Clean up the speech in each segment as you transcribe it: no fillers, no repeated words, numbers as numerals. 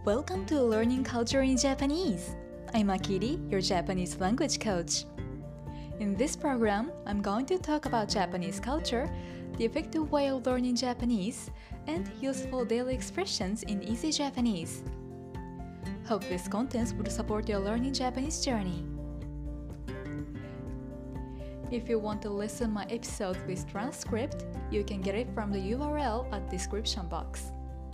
Welcome to Learning Culture in Japanese. I'm Akiri, your Japanese language coach. In this program, I'm going to talk about Japanese culture, the effective way of learning Japanese, and useful daily expressions in easy Japanese. Hope this content will support your learning Japanese journey. If you want to listen my episode with transcript, you can get it from the URL at description box.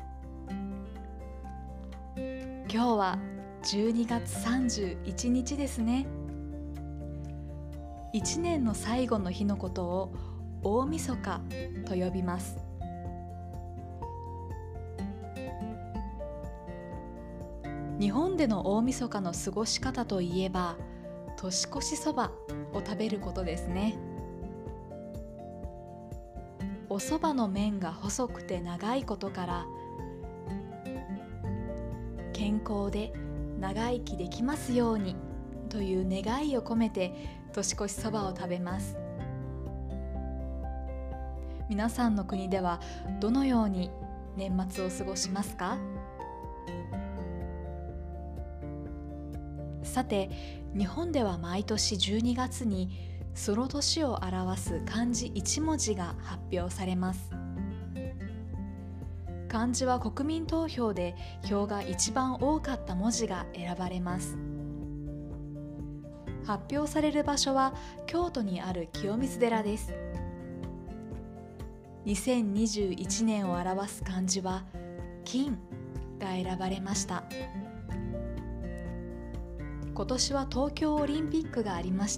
今日は12月31日ですね。1年の最後の日のことを大晦日と呼びます。日本での大晦日の過ごし方といえば、年越しそばを食べることですね。おそばの麺が細くて長いことから、健康で長生きできますようにという願いを込めて年越しそばを食べます。皆さんの国ではどのように年末を過ごしますか？さて、日本では毎年12月にその年を表す漢字1文字が発表されます。漢字は国民投票で票が一番多かった文字が選ばれます。発表される場所は京都にある清水寺です。2021年を表す漢字は金が選ばれました。今年は東京オリンピックがありました。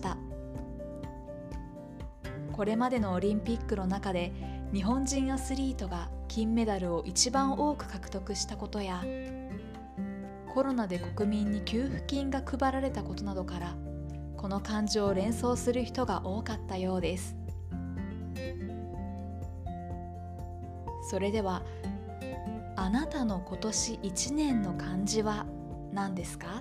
これまでのオリンピックの中で日本人アスリートが金メダルを一番多く獲得したことや、コロナで国民に給付金が配られたことなどから、この漢字を連想する人が多かったようです。それでは、あなたの今年1年の漢字は何ですか？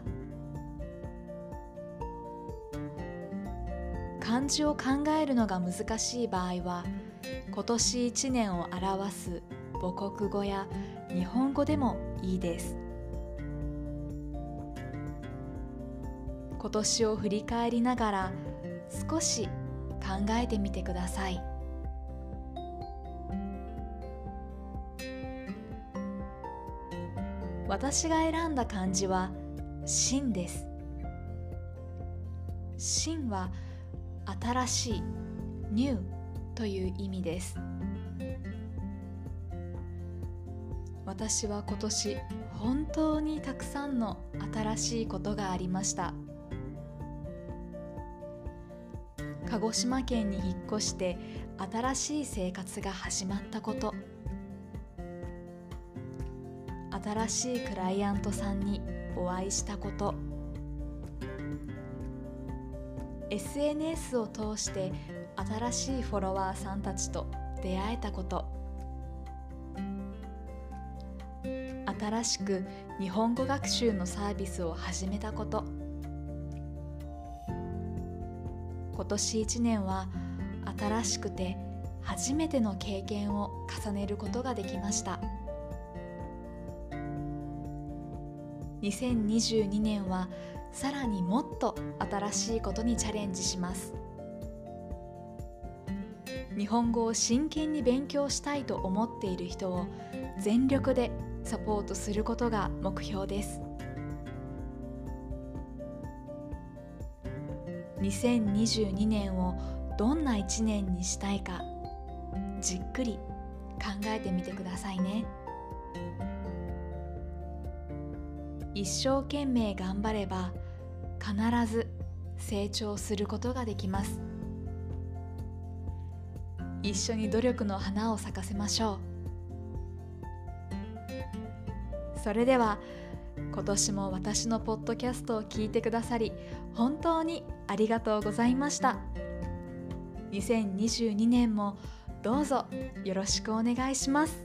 漢字を考えるのが難しい場合は、今年1年を表す母国語や日本語でもいいです。今年を振り返りながら少し考えてみてください。私が選んだ漢字は新です。新は新しい、ニューという意味です。私は今年本当にたくさんの新しいことがありました。鹿児島県に引っ越して新しい生活が始まったこと、新しいクライアントさんにお会いしたこと、SNS を通して新しいフォロワーさんたちと出会えたこと、新しく日本語学習のサービスを始めたこと、今年1年は新しくて初めての経験を重ねることができました。2022年はさらにもっと新しいことにチャレンジします。日本語を真剣に勉強したいと思っている人を全力でサポートすることが目標です。2022年をどんな1年にしたいか、じっくり考えてみてくださいね。一生懸命頑張れば必ず成長することができます。一緒に努力の花を咲かせましょう。それでは今年も私のポッドキャストを聞いてくださり本当にありがとうございました。2022年もどうぞよろしくお願いします。